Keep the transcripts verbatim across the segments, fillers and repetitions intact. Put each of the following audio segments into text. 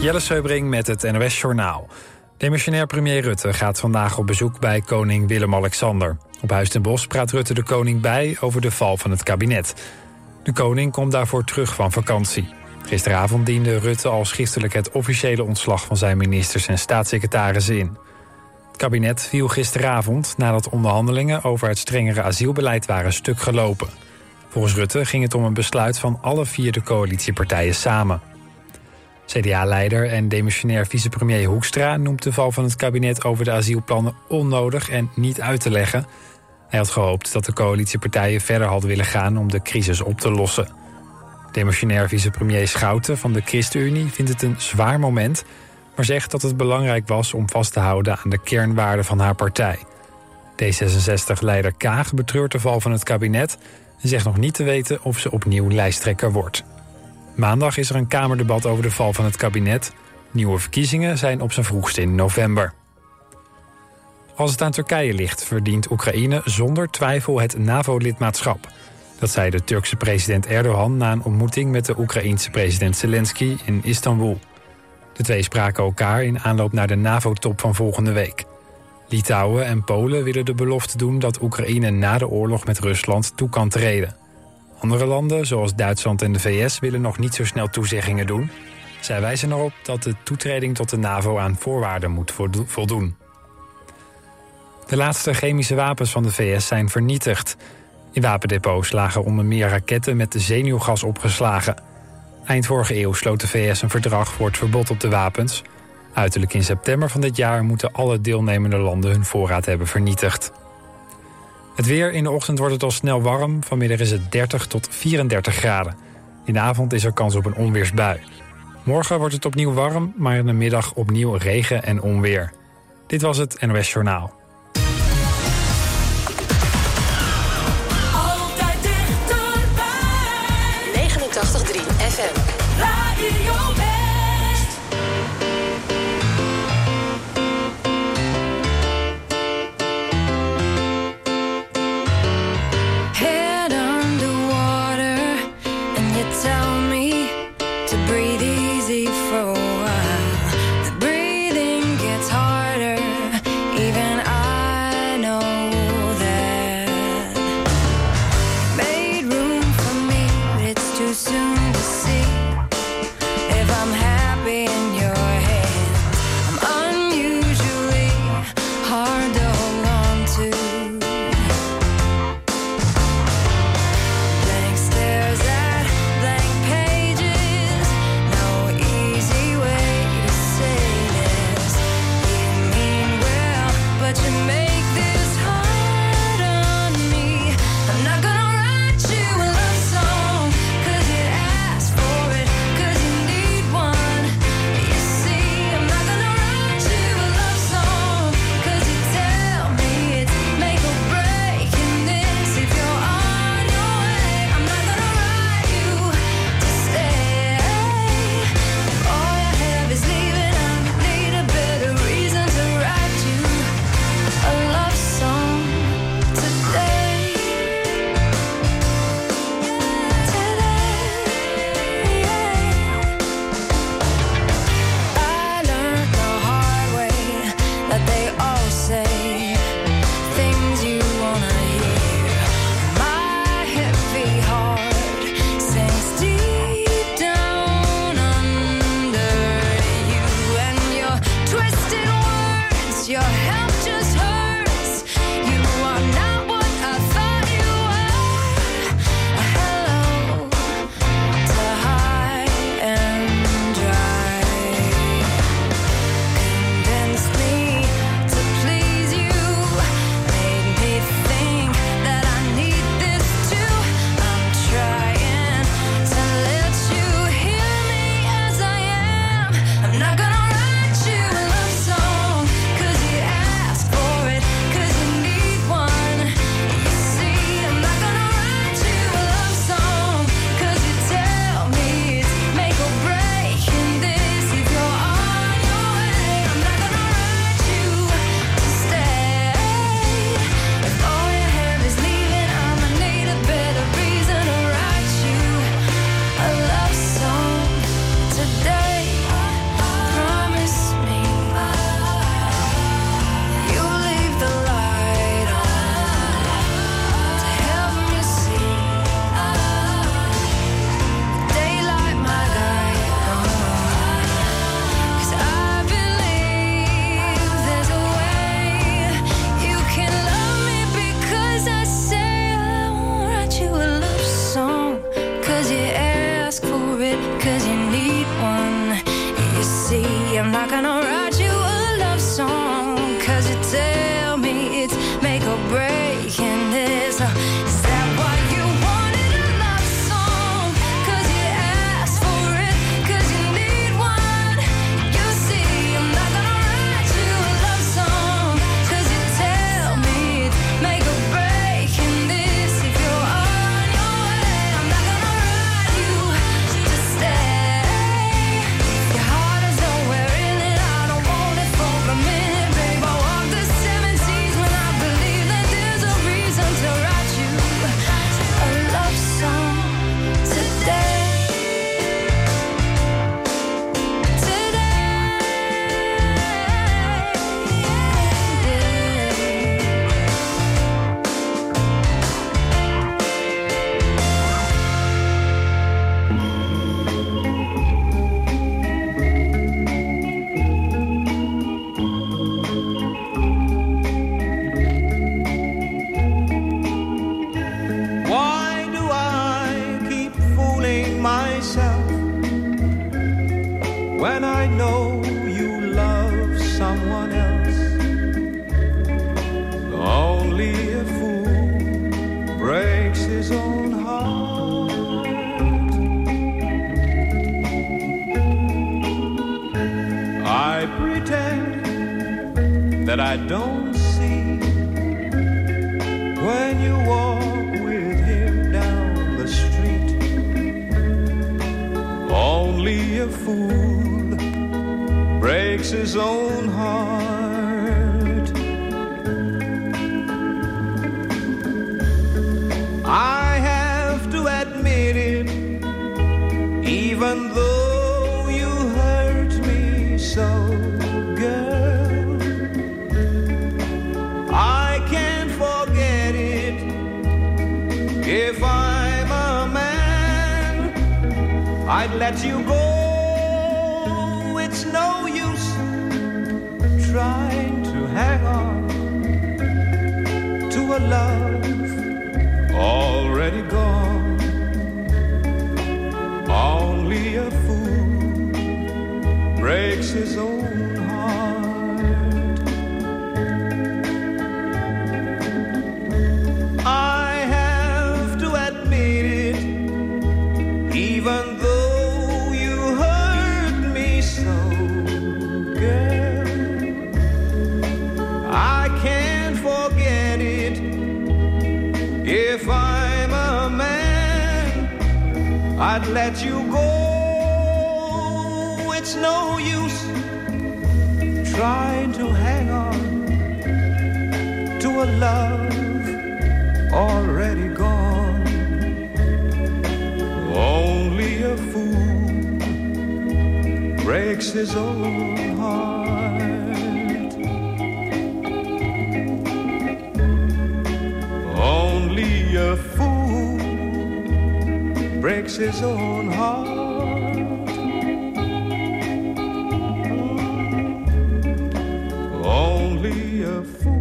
Jelle Seubring met het N O S-journaal. Demissionair premier Rutte gaat vandaag op bezoek bij koning Willem-Alexander. Op Huis ten Bosch praat Rutte de koning bij over de val van het kabinet. De koning komt daarvoor terug van vakantie. Gisteravond diende Rutte al schriftelijk het officiële ontslag van zijn ministers en staatssecretarissen in. Het kabinet viel gisteravond nadat onderhandelingen over het strengere asielbeleid waren stuk gelopen. Volgens Rutte ging het om een besluit van alle vier de coalitiepartijen samen. C D A-leider en demissionair vicepremier Hoekstra noemt de val van het kabinet over de asielplannen onnodig en niet uit te leggen. Hij had gehoopt dat de coalitiepartijen verder hadden willen gaan om de crisis op te lossen. Demissionair vicepremier Schouten van de ChristenUnie vindt het een zwaar moment, maar zegt dat het belangrijk was om vast te houden aan de kernwaarden van haar partij. D zesenzestig-leider Kaag betreurt de val van het kabinet en zegt nog niet te weten of ze opnieuw lijsttrekker wordt. Maandag is er een kamerdebat over de val van het kabinet. Nieuwe verkiezingen zijn op zijn vroegst in november. Als het aan Turkije ligt, verdient Oekraïne zonder twijfel het NAVO-lidmaatschap. Dat zei de Turkse president Erdogan na een ontmoeting met de Oekraïense president Zelensky in Istanbul. De twee spraken elkaar in aanloop naar de NAVO-top van volgende week. Litouwen en Polen willen de belofte doen dat Oekraïne na de oorlog met Rusland toe kan treden. Andere landen, zoals Duitsland en de V S, willen nog niet zo snel toezeggingen doen. Zij wijzen erop dat de toetreding tot de NAVO aan voorwaarden moet voldoen. De laatste chemische wapens van de V S zijn vernietigd. In wapendepots lagen onder meer raketten met zenuwgas opgeslagen. Eind vorige eeuw sloot de V S een verdrag voor het verbod op de wapens. Uiterlijk in september van dit jaar moeten alle deelnemende landen hun voorraad hebben vernietigd. Het weer: in de ochtend wordt het al snel warm. Vanmiddag is het dertig tot vierendertig graden. In de avond is er kans op een onweersbui. Morgen wordt het opnieuw warm, maar in de middag opnieuw regen en onweer. Dit was het N O S Journaal. Altijd dichterbij. negenentachtig komma drie F M. Radio West. Even I see, I'm not gonna write you a love song, cause you tell me it's make or break, and there's a, is that why you wanted a love song? Cause you asked for it, cause you need one. You see, I'm not gonna write you a love song, cause you tell me it's make or break, and this, if you're on your way, I'm not gonna write you to stay. Your heart is nowhere in it, I don't want it for a minute, babe. I walk the seven seas when I believe that there's a reason to write you a love song today. Why do I keep fooling myself when I know you love someone else? Only a fool breaks his own heart. I pretend that I don't see when you walk with him down the street. Only a fool breaks his own heart. I have to admit it, even though you hurt me so, girl. I can't forget it. If I'm a man, I'd let you go. It's no use trying to hang on to a love already gone. Only a fool breaks his own heart. I have to admit it, even though you hurt me so, girl. I can't forget it. If I'm a man, I'd let you go. It's no use trying to hang on to a love already gone. Only a fool breaks his own heart. Only a fool breaks his own heart. Only a fool.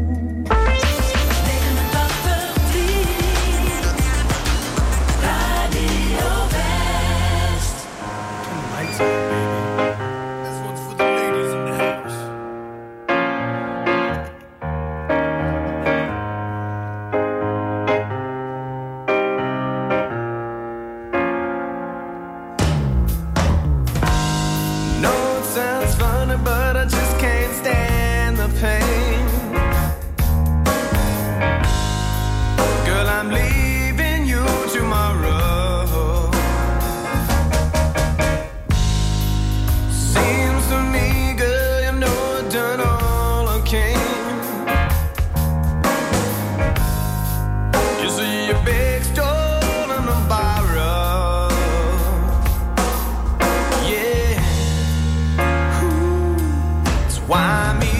Why me?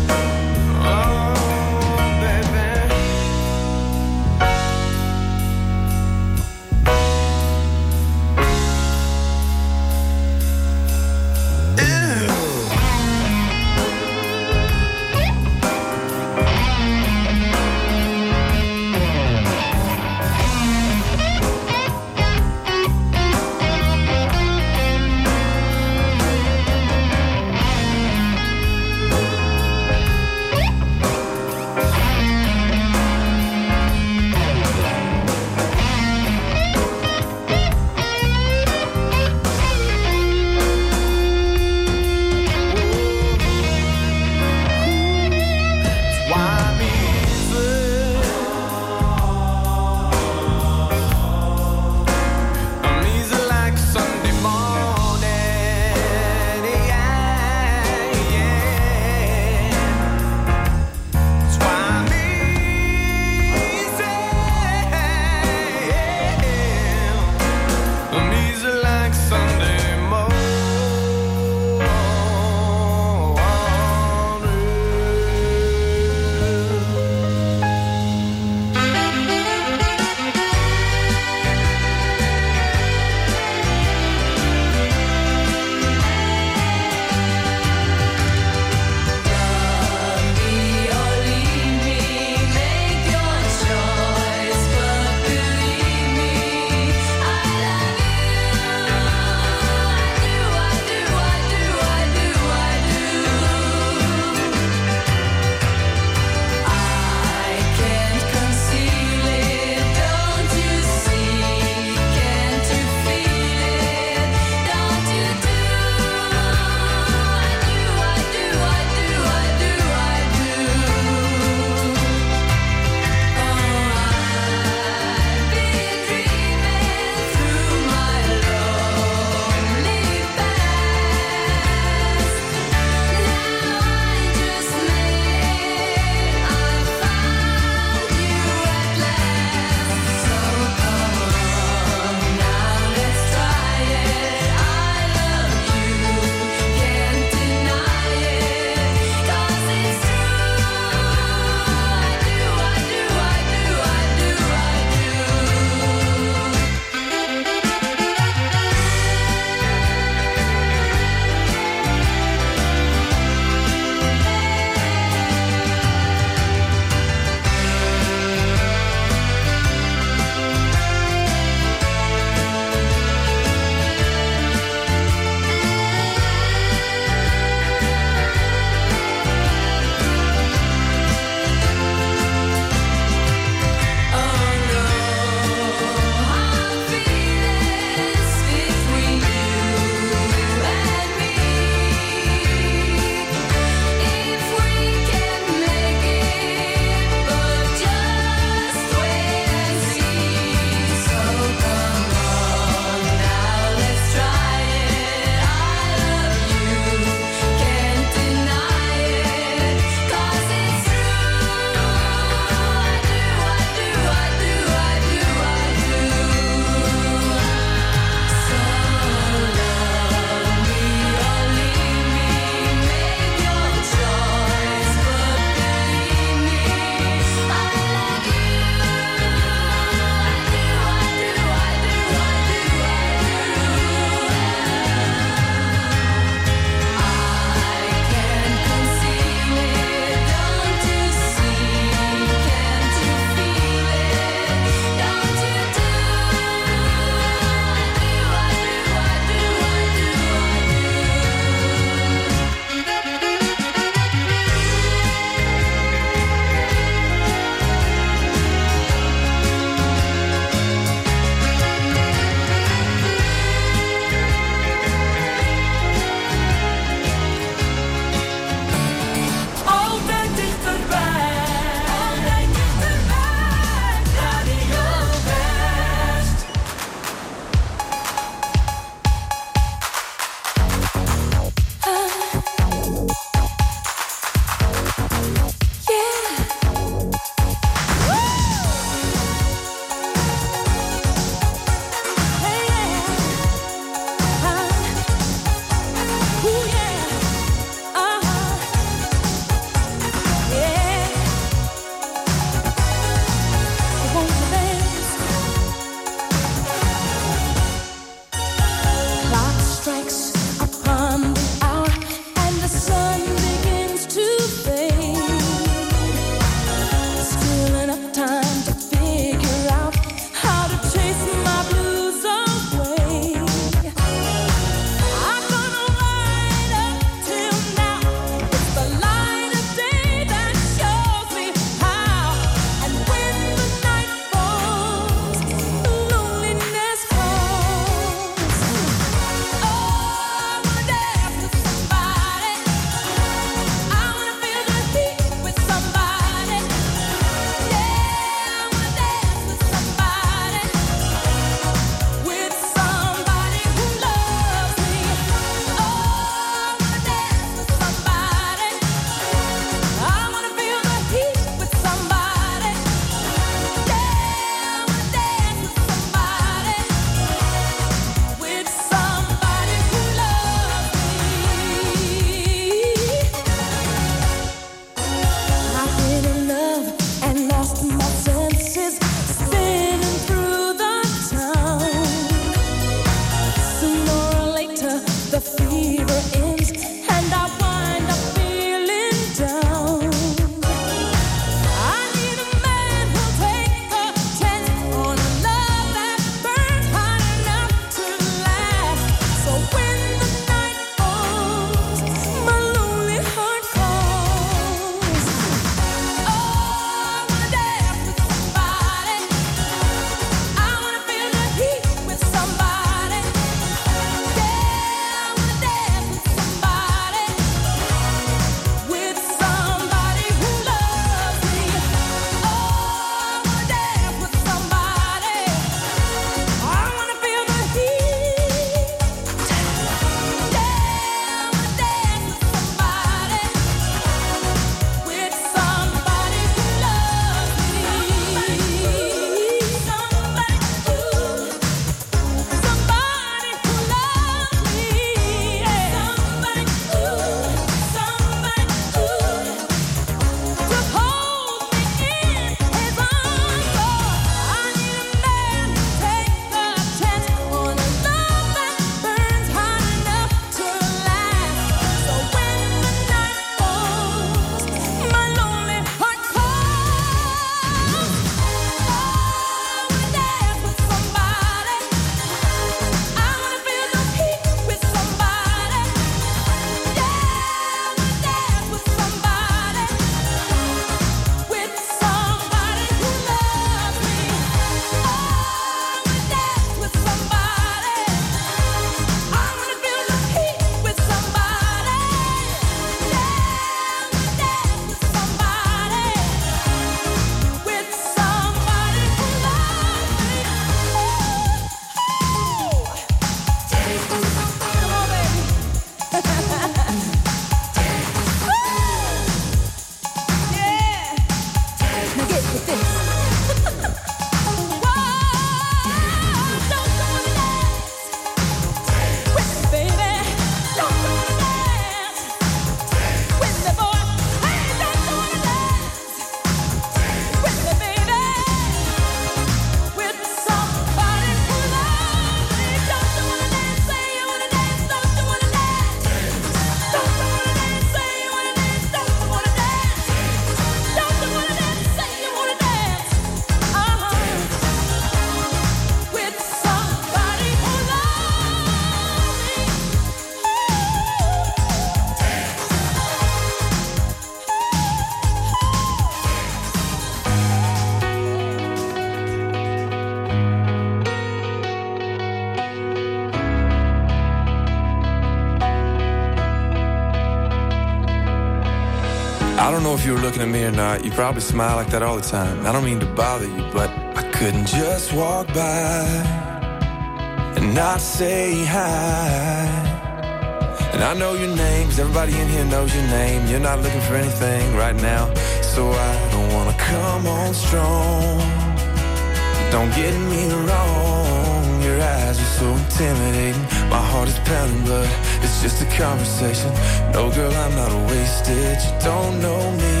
I don't know if you were looking at me or not. You probably smile like that all the time. I don't mean to bother you, but I couldn't just walk by and not say hi. And I know your name, 'cause everybody in here knows your name. You're not looking for anything right now, so I don't wanna come on strong. Don't get me wrong, your eyes are so intimidating. My heart is pounding, but it's just a conversation. No, girl, I'm not wasted. You don't know me,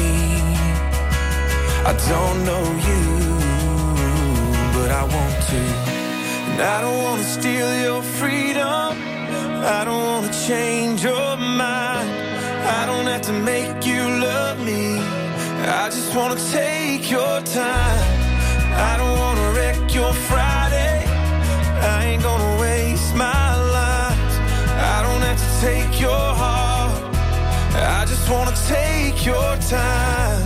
I don't know you, but I want to. And I don't wanna steal your freedom, I don't wanna change your mind. I don't have to make you love me, I just wanna take your time. I don't wanna wreck your Friday, I ain't gonna waste my life. I don't have to take your heart, I just wanna take your time.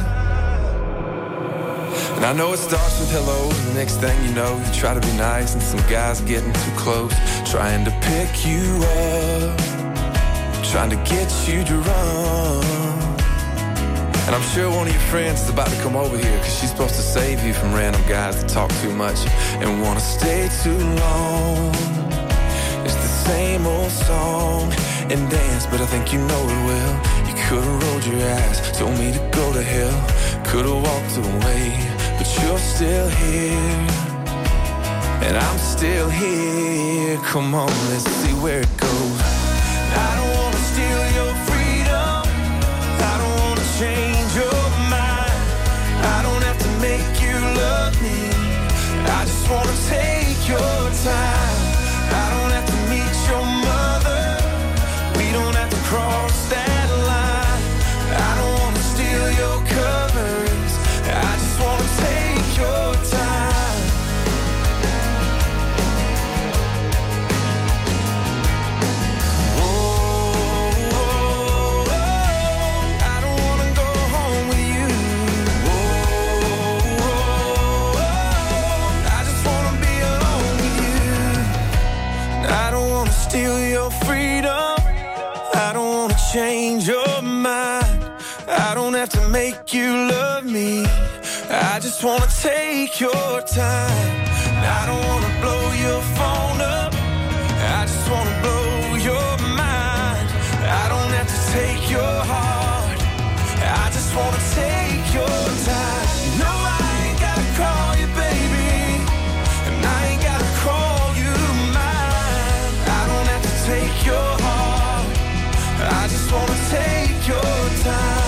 And I know it starts with hello, and the next thing you know, you try to be nice, and some guy's getting too close, trying to pick you up, trying to get you to run. And I'm sure one of your friends is about to come over here, 'cause she's supposed to save you from random guys that talk too much and wanna stay too long. It's the same old song and dance, but I think you know it well. You could've rolled your eyes, told me to go to hell, could've walked away, but you're still here, and I'm still here. Come on, let's see where it goes. I don't wanna steal your freedom, I don't wanna change your mind. I don't have to make you love me, I just wanna take your time. I don't have to meet your mother, we don't have to cross that line. I don't wanna steal your covers, I just wanna take your time. Whoa, whoa, whoa, I don't wanna go home with you. Whoa, whoa, whoa, I just wanna be alone with you. I don't wanna steal your freedom, I don't wanna change your mind. I don't have to make you love me, I just wanna take your time. I don't wanna blow your phone up, I just wanna blow your mind. I don't have to take your heart, I just wanna take your time. No, I ain't gotta call you baby, and I ain't gotta call you mine. I don't have to take your heart, I just wanna take your time.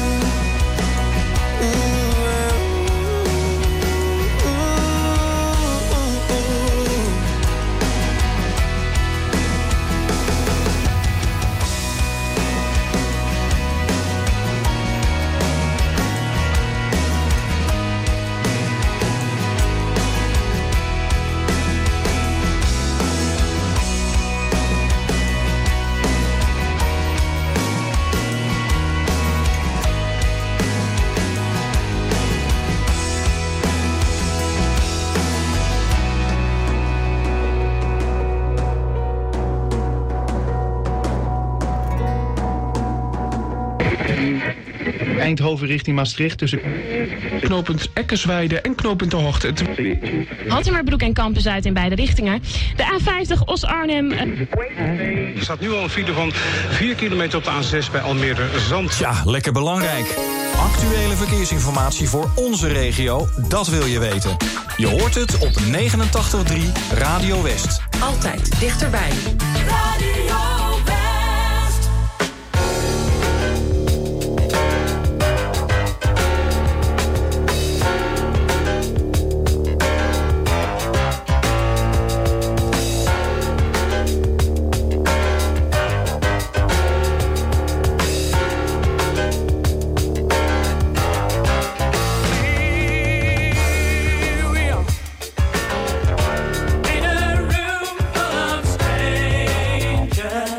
Eindhoven richting Maastricht tussen knooppunt Eckersweide en knooppunt De Hoogte. Hattemerbroek en Kampen Zuid in beide richtingen. De A vijftig Os-Arnhem. Er staat nu al een file van vier kilometer op de A zes bij Almere Zand. Ja, lekker belangrijk. Actuele verkeersinformatie voor onze regio, dat wil je weten. Je hoort het op negenentachtig komma drie Radio West. Altijd dichterbij. Radio West. In a room full of strangers.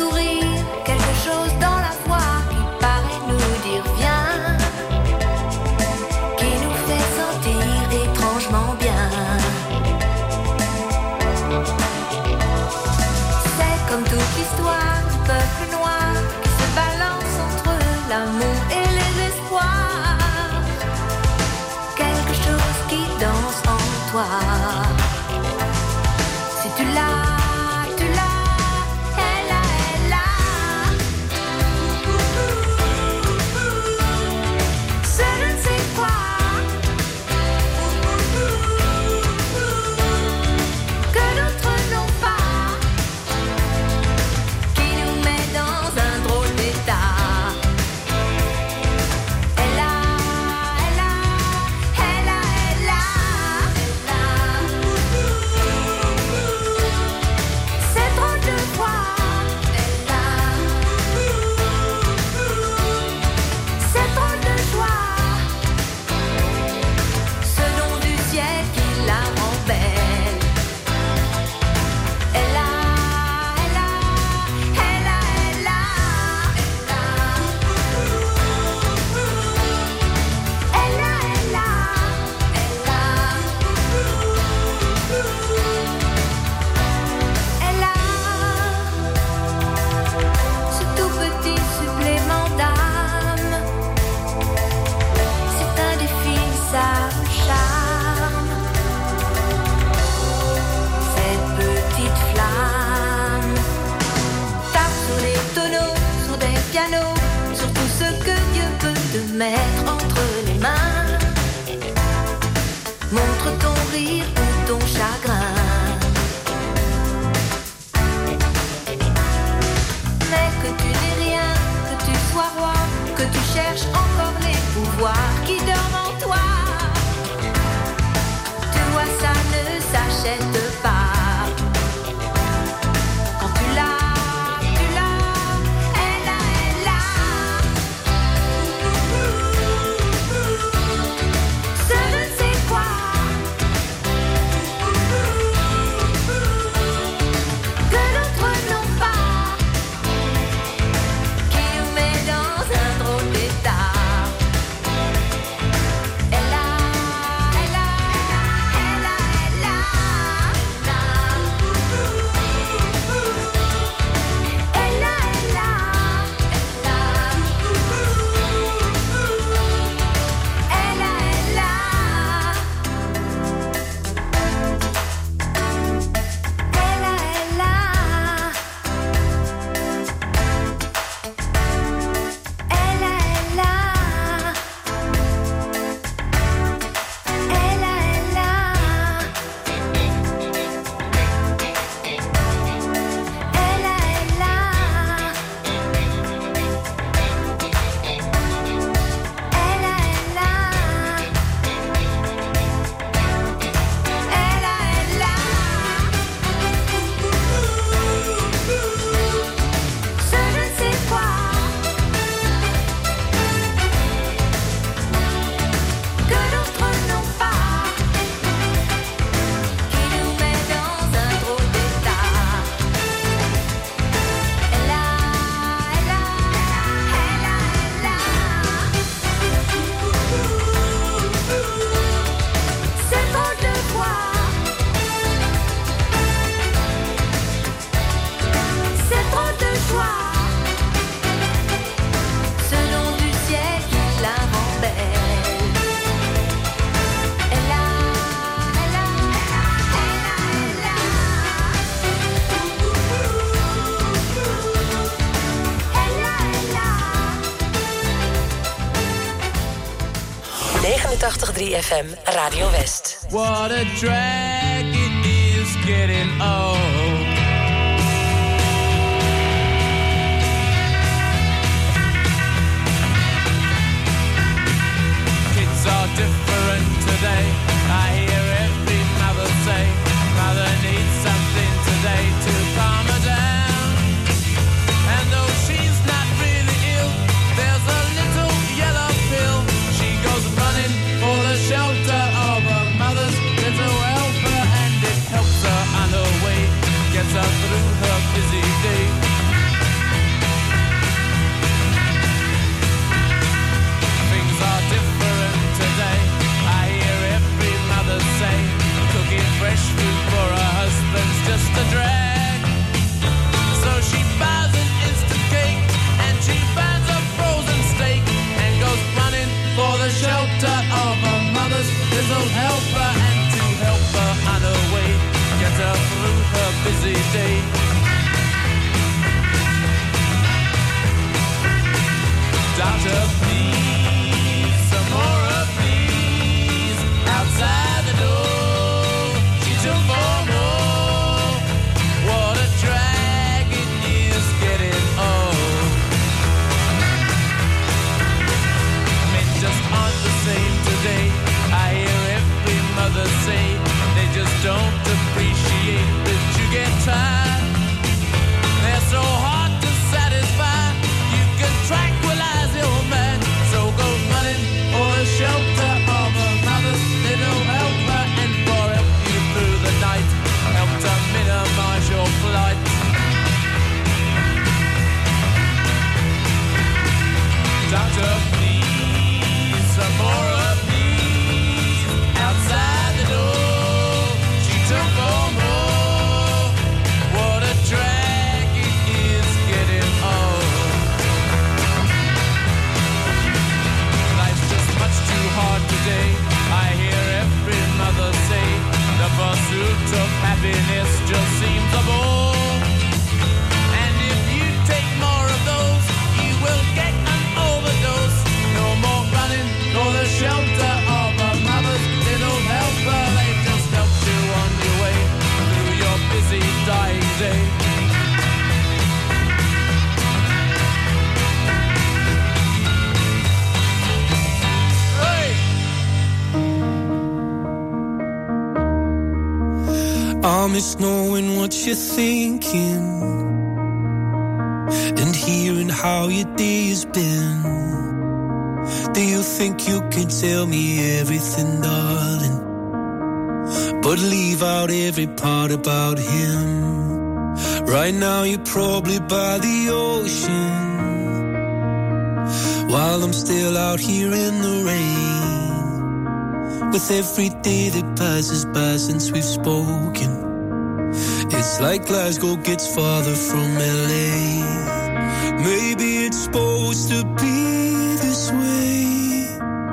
sourire, quelque chose dans la voix qui paraît nous dire viens, qui nous fait sentir étrangement bien. C'est comme toute l'histoire du peuple noir qui se balance entre l'amour et les espoirs. Quelque chose qui danse en toi. Si tu l'as, tu l'as, elle a, elle a. C'est je ne sais quoi que d'autres n'ont pas, qui nous met dans un drôle d'état. Elle a, elle a, elle a, elle a, elle a. C'est drôle de voir, elle a. C'est drôle de joie, ce nom du ciel qui la rend belle. Elle a, elle a, elle a, elle a, elle a. Elle a, elle a, elle a. Elle a ce tout petit supplément d'âme. C'est indéfinissable charme. Cette petite flamme tape sur les tonneaux, sur des pianos, sur tout ce que Dieu peut te mettre entre les mains. Montre ton rire ou ton chagrin. Mais que tu n'aies rien, que tu sois roi, que tu cherches encore les pouvoirs qui dorment en toi. Tu vois, ça ne s'achète pas. Quand tu l'as, tu l'as, elle a, elle a. Ce je ne sais quoi que d'autres n'ont pas, qui nous met dans un drôle d'état. Elle a, elle a, elle a, elle a, elle a. Elle a, elle a, elle a, elle a, elle a. Elle a, elle a. Elle a, elle a. Elle a, elle a. Elle a, elle a. Elle a, elle a. Elle a, elle a. Ce je ne sais quoi que d'autres n'ont pas, qui nous met dans un drôle d'état. Elle a, elle a, elle a, elle a. C'est drôle de voir, c'est drôle de joie, ce nom du ciel qui la rend belle. Elle a, elle a, elle a, elle a. Elle a, elle a. negenentachtig komma drie F M, Radio West. What a drag it is getting old. Kids are different today. I hear every mother say, mother needs something today to calm her down. And though she's not really ill, there's a little yellow pill. She goes running for the shelter of her mother's little helper, and it helps her on her way miss knowing what you're thinking and hearing how your day has been. Do you think you can tell me everything, darling, but leave out every part about him? Right now you're probably by the ocean, while I'm still out here in the rain. With every day that passes by since we've spoken, it's like Glasgow gets farther from L A. Maybe it's supposed to be this way,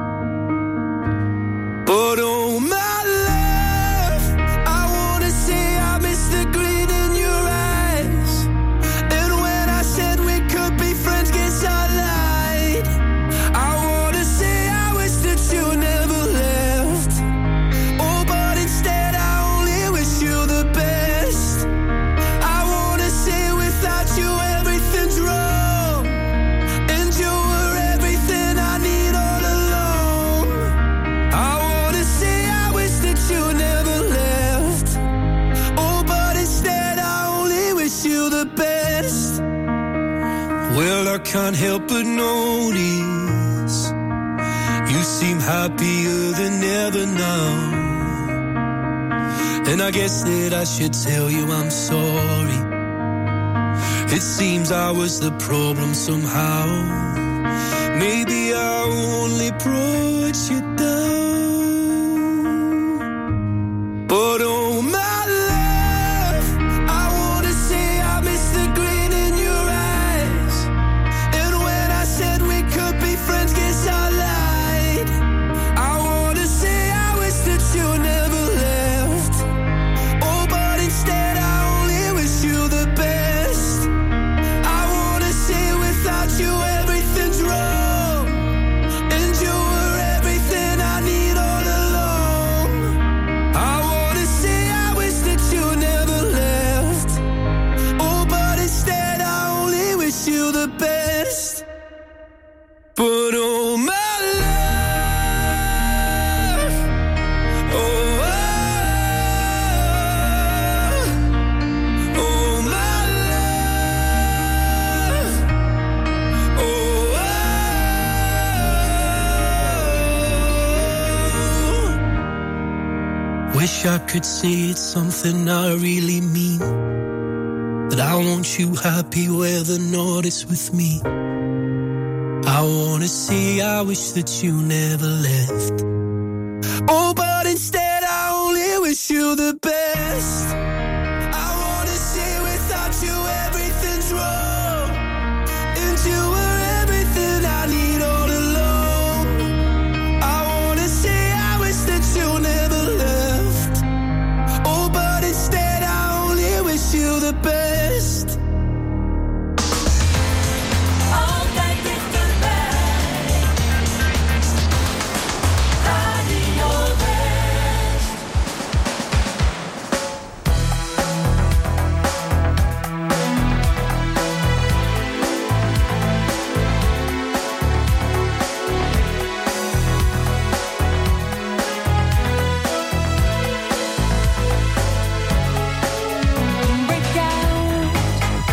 but oh my love, I wanna say I miss the grin in your eyes. And when I said we could be friends, guess I lied. I wanna say I wish that you never left. Oh, but instead I only wish you the best. I wanna say without you everything's wrong, and you were everything I need all along. I wanna say I wish that you never left. Oh, but instead I only wish you the best. Well, I can't help but notice you seem happier than ever now, and I guess that I should tell you I'm sorry. It seems I was the problem somehow. Maybe I only brought you down, but oh my love, I wanna say I miss the grin in your eyes. And when I said we could be friends, guess I lied. I wanna say I wish that you never left. Oh, but instead I only wish you the best. I wanna say without you everything's wrong, and you were everything I need all along. I wanna say I wish that you never left. Oh, but instead I only wish you the best. But oh my love, oh, oh, oh my love, oh, oh. Wish I could say it's something I really mean, that I want you happy where the north is with me. I wanna say I wish that you never left. Oh, but instead I only wish you the best. I wanna say without you everything's wrong, and you were everything I need all along. I wanna say I wish that you never left. Oh, but instead I only wish you the best. Altijd dichterbij. Radio West. Break out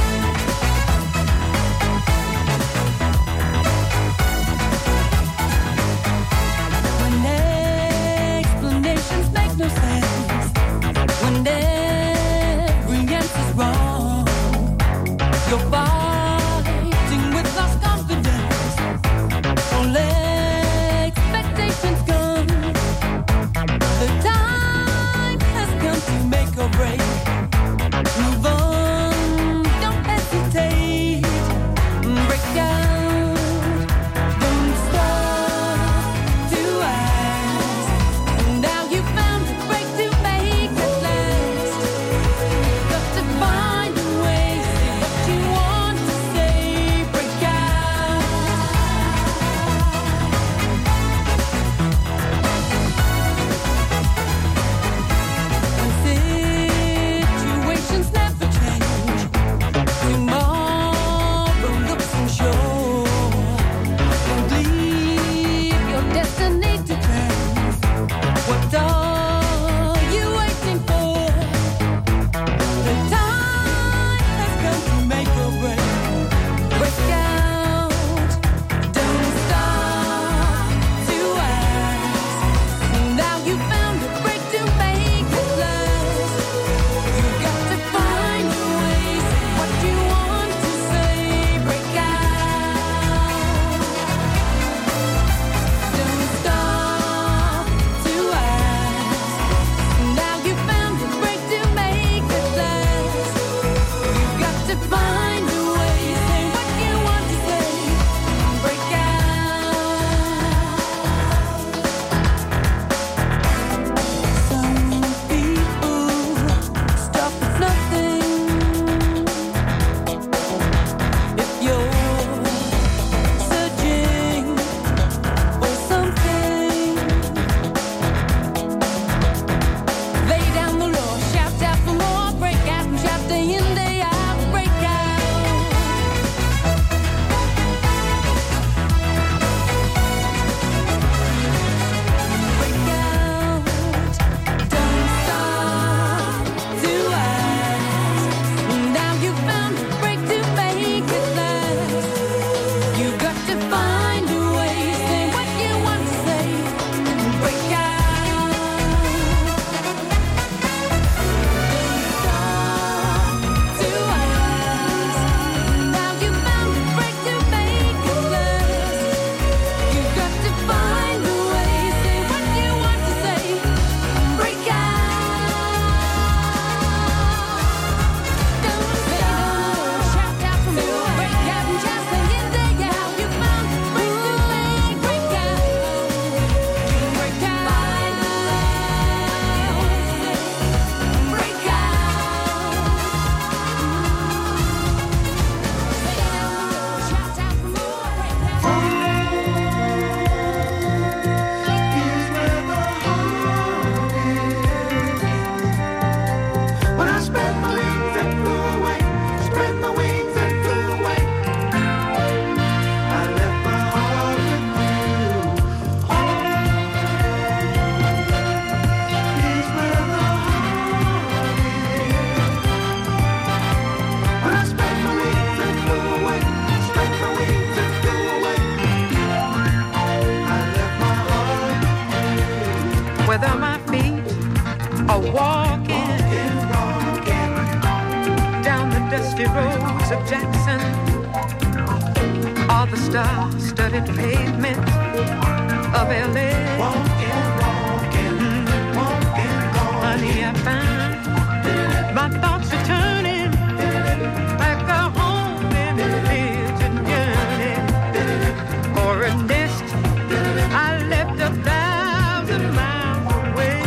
dusty roads of Jackson, all the star-studded pavement of L A. Walking, walking, mm-hmm. walking, walking. Honey, I find my thoughts are turning back to home in religion yearning for a nest I left a thousand miles away.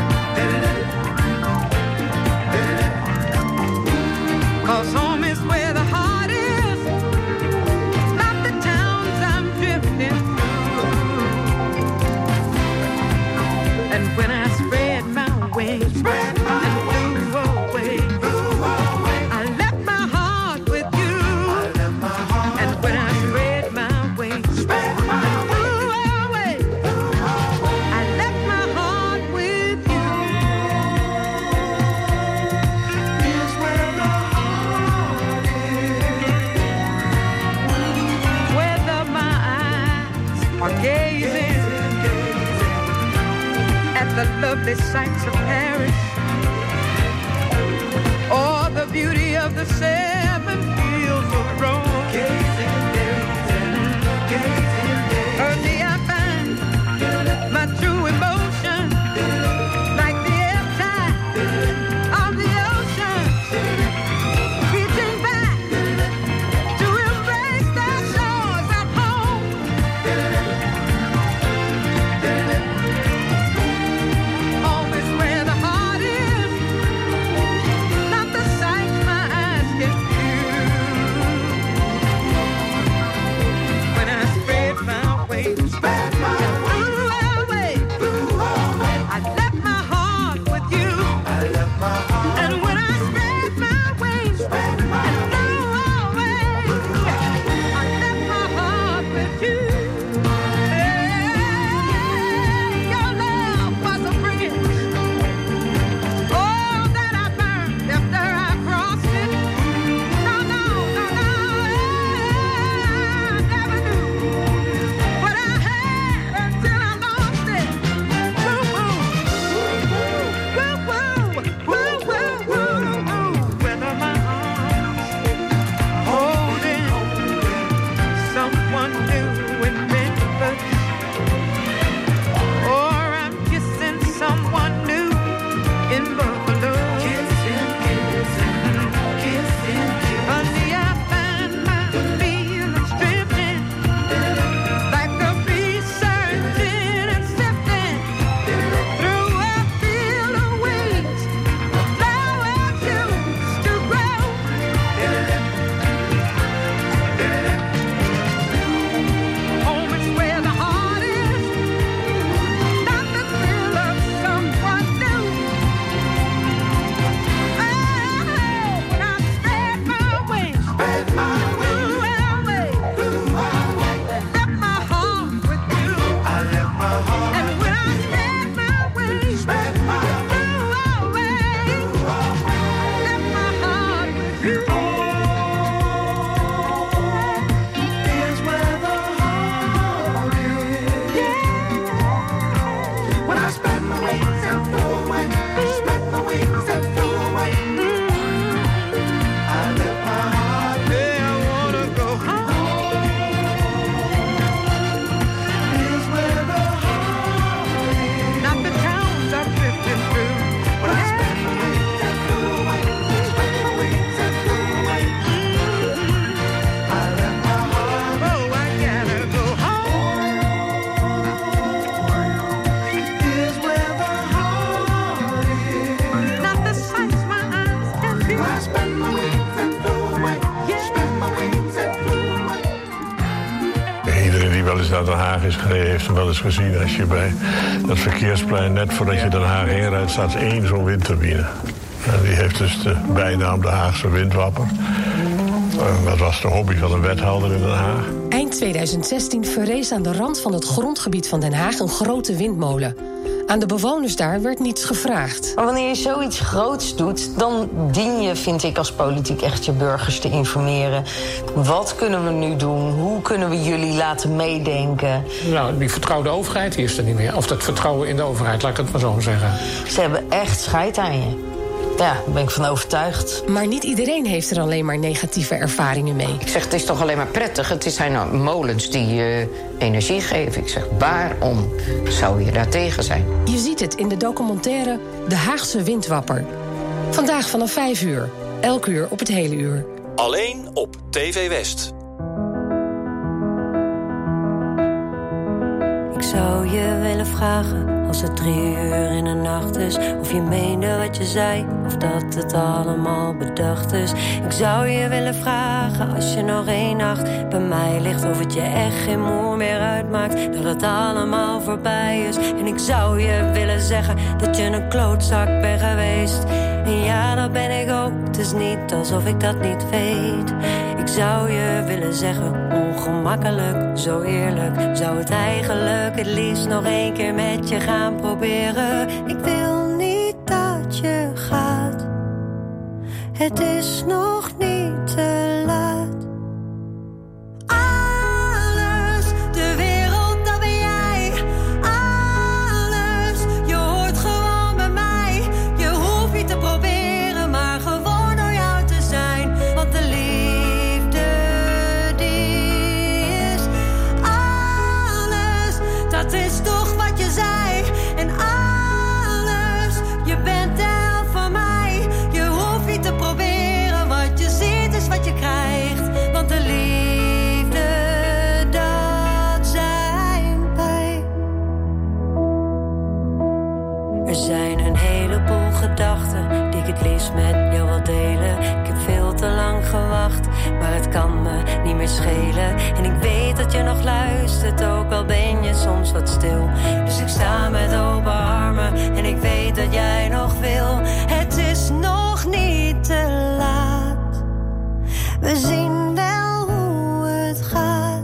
'Cause home is where the heart is, not the towns I'm drifting through. And when I spread my wings spread my and flew away, flew away, I left my heart with you. I left my heart and when I spread my wings spread my and flew away, flew away, I left my heart with you. Here's where the heart is, whether my eyes are gazing at the lovely sights of Paris or the beauty of the seven fields of Rome. Gazing, gazing, gazing, gazing. Early I find my true emotion, like the ebb tide of the ocean, reaching back to embrace the shores of home. Home is where the heart is, not the sight my eyes can view. When I spread my wings, spread my wings, away, away, I left my heart with you. I left my heart, and when I spread my wings, spread my and flew away, I left my heart with you. Hey, your love was a bridge, oh, that I burned after I crossed it. No, no, no, no, I never knew what I had until I lost it. Woo, woo, woo, woo, woo, woo, woo, woo. Whether my arms holding someone new in Memphis, or I'm kissing someone new in Buffalo. Kissing, kissing, kissing, honey, I find my feelings drifting like a bee searching and sifting through a field of weeds. Flowers used to grow. Home is where the heart is, not the thrill of someone new. Oh, when I spread my wings, spread my wings, flew away, left my heart with you. I left my heart, and when I spread my wings, spread my flew away, left my heart with you. Here's where the heart is. Yeah. When I spread my wings and flew away, spread my wings and flew away. I left my heart. Yeah, I wanna go home. Here's where the heart is. Not the towns I'm drifting through. When I spread my wings and flew away, spread my wings and flew away. I left my heart. Oh, I gotta go home. Here's where the heart is. Not the sights my eyes can view. I spread my wings and flew away. Spread my wings and flew away. Iedereen die wel eens naar Den Haag is gereden, heeft hem wel eens gezien. Als je bij dat verkeersplein, net voordat je Den Haag inrijdt, staat één zo'n windturbine. En die heeft dus de bijnaam de Haagse windwapper. En dat was de hobby van een wethouder in Den Haag. Eind tweeduizend zestien verrees aan de rand van het grondgebied van Den Haag een grote windmolen. Aan de bewoners daar werd niets gevraagd. Maar wanneer je zoiets groots doet, dan dien je, vind ik, als politiek echt je burgers te informeren. Wat kunnen we nu doen? Hoe kunnen we jullie laten meedenken? Nou, die vertrouwde overheid die is er niet meer. Of dat vertrouwen in de overheid, laat ik het maar zo zeggen. Ze hebben echt scheid aan je. Ja, daar ben ik van overtuigd. Maar niet iedereen heeft er alleen maar negatieve ervaringen mee. Ik zeg, het is toch alleen maar prettig. Het zijn nou molens die uh, energie geven. Ik zeg, waarom zou je daar tegen zijn? Je ziet het in de documentaire De Haagse Windwapper. Vandaag vanaf vijf uur. Elk uur op het hele uur. Alleen op T V West. Ik zou je willen vragen, als het drie uur in de nacht is, of je meende wat je zei, of dat het allemaal bedacht is. Ik zou je willen vragen, als je nog één nacht bij mij ligt, of het je echt geen moer meer uitmaakt, dat het allemaal voorbij is. En ik zou je willen zeggen, dat je een klootzak bent geweest. En ja, dat ben ik ook, het is niet alsof ik dat niet weet. Ik zou je willen zeggen, ongemakkelijk, zo eerlijk, zou het eigenlijk het liefst nog één keer met je gaan proberen. Ik wil niet dat je gaat, het is nog niet te laat. Alles, de wereld, dat ben jij. Alles, je hoort gewoon bij mij. Je hoeft niet te proberen, maar gewoon door jou te zijn. Want de liefde, die is alles. Dat is toch wat je zei. En alles, je bent de helft van mij. Je hoeft niet te proberen, wat je ziet is wat je krijgt. Want de liefde, dat zijn wij. Er zijn een heleboel gedachten die ik het liefst met jou wil delen. Ik heb veel te lang gewacht, maar het kan me niet meer schelen. En ik weet dat je nog luistert, ook al ben je soms wat stil. Dus ik sta met open armen en ik weet dat jij nog wil. Het is nog niet te laat, we zien wel hoe het gaat.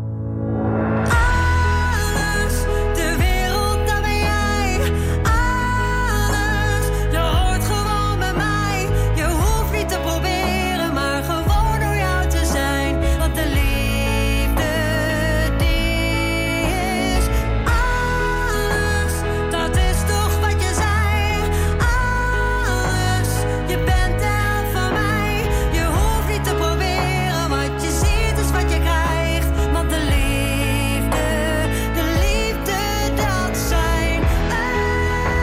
Alles, de wereld, dat ben jij. Alles, je hoort gewoon bij mij. Je hoeft niet te proberen, maar gewoon door jou te zijn. Want de liefde, die is alles. Dat is toch wat je zei. Alles, je bent de helft van mij. Je hoeft niet te proberen, wat je ziet is wat je krijgt. Want de liefde, de liefde, dat zijn wij.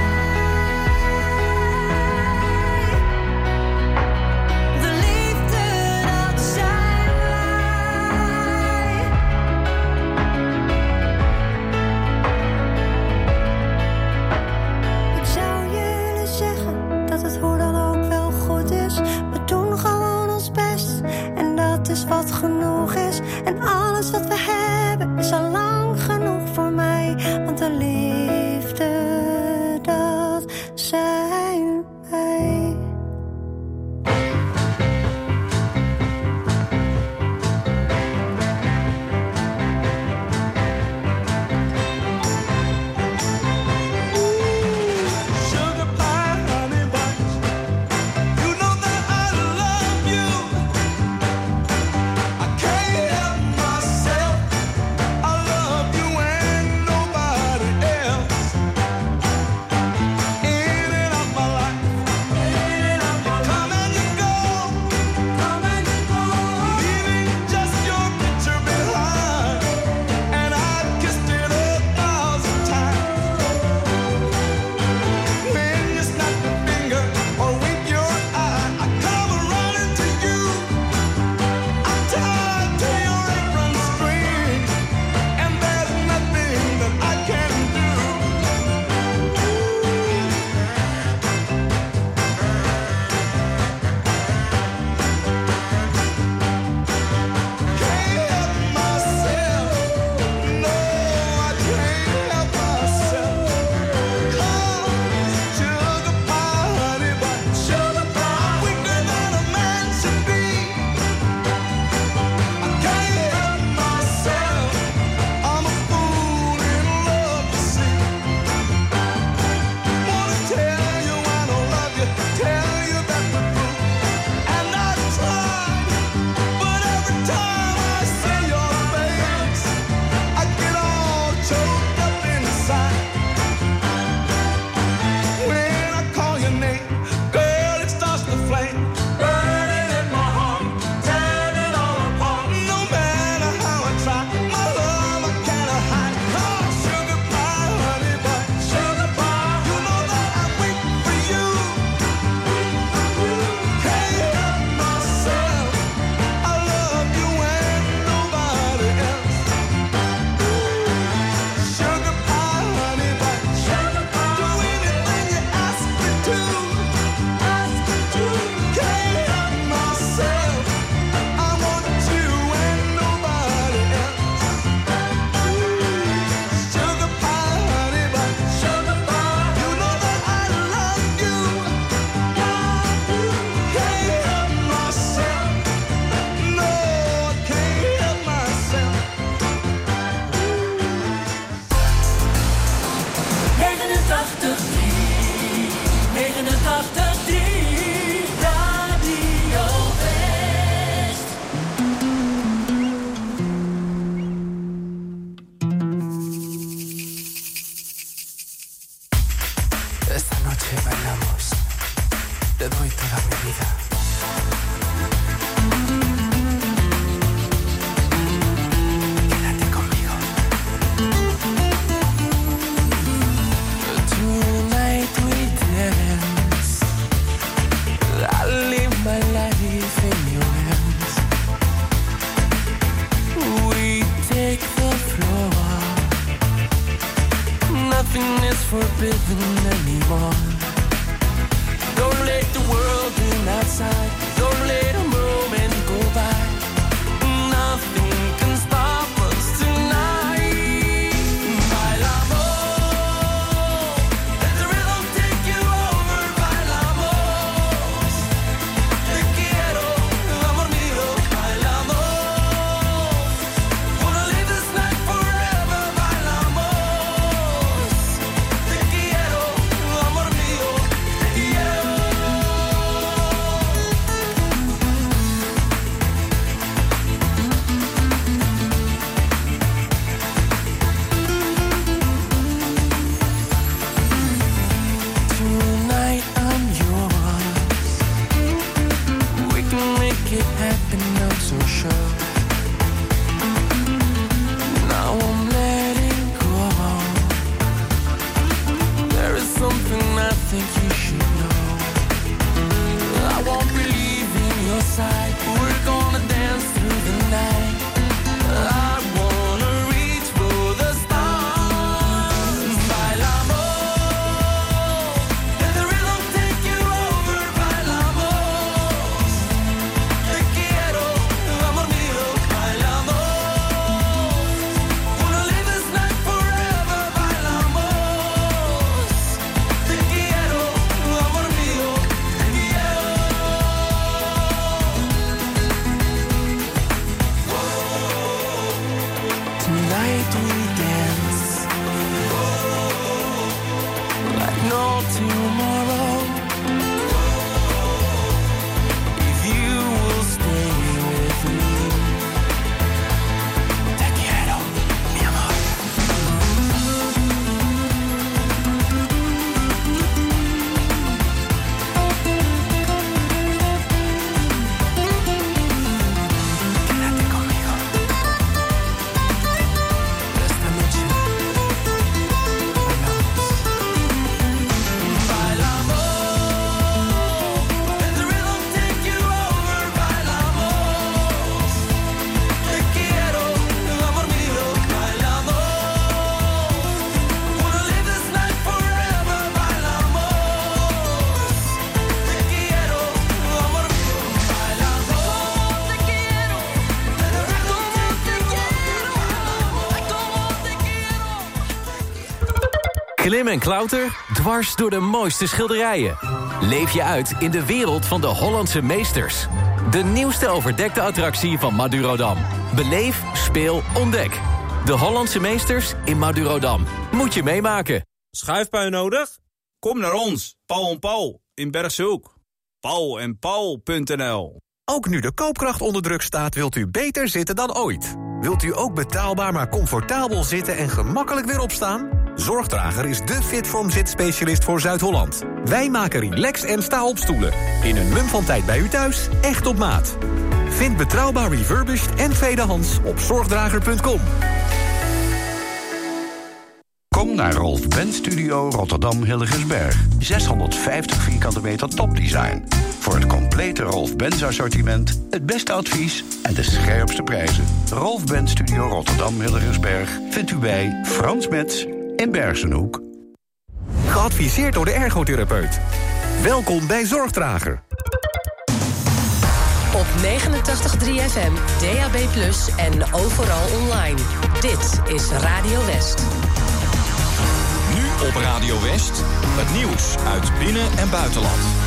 De liefde, dat zijn wij. Ik zou je willen zeggen dat het hoe dan ook wel goed is. We doen gewoon ons best en dat is wat genoeg is. En alles wat we hebben is al lang genoeg voor mij. Want de liefde, dat zijn wij. Sugar pie, honey buns. You know that I love you. I can't help myself. I love Klim en klauter, dwars door de mooiste schilderijen. Leef je uit in de wereld van de Hollandse meesters. De nieuwste overdekte attractie van Madurodam. Beleef, speel, ontdek. De Hollandse meesters in Madurodam. Moet je meemaken. Schuifpui nodig? Kom naar ons, Paul en Paul, in Bergse Hoek. paul en paul punt n l. Ook nu de koopkracht onder druk staat, wilt u beter zitten dan ooit. Wilt u ook betaalbaar maar comfortabel zitten en gemakkelijk weer opstaan? Zorgdrager is de Fitform zitspecialist voor Zuid-Holland. Wij maken relax- en sta-opstoelen. In een mum van tijd bij u thuis, echt op maat. Vind betrouwbaar refurbished en tweedehands op zorgdrager punt com. Kom naar Rolf Benz Studio Rotterdam Hillegersberg. zeshonderdvijftig vierkante meter topdesign. Voor het complete Rolf Benz assortiment, het beste advies en de scherpste prijzen. Rolf Benz Studio Rotterdam Hillegersberg vindt u bij Frans Metz in Bergenhoek. Geadviseerd door de ergotherapeut. Welkom bij Zorgdrager. Op negenentachtig komma drie F M, D A B plus, en overal online. Dit is Radio West. Nu op Radio West, het nieuws uit binnen- en buitenland.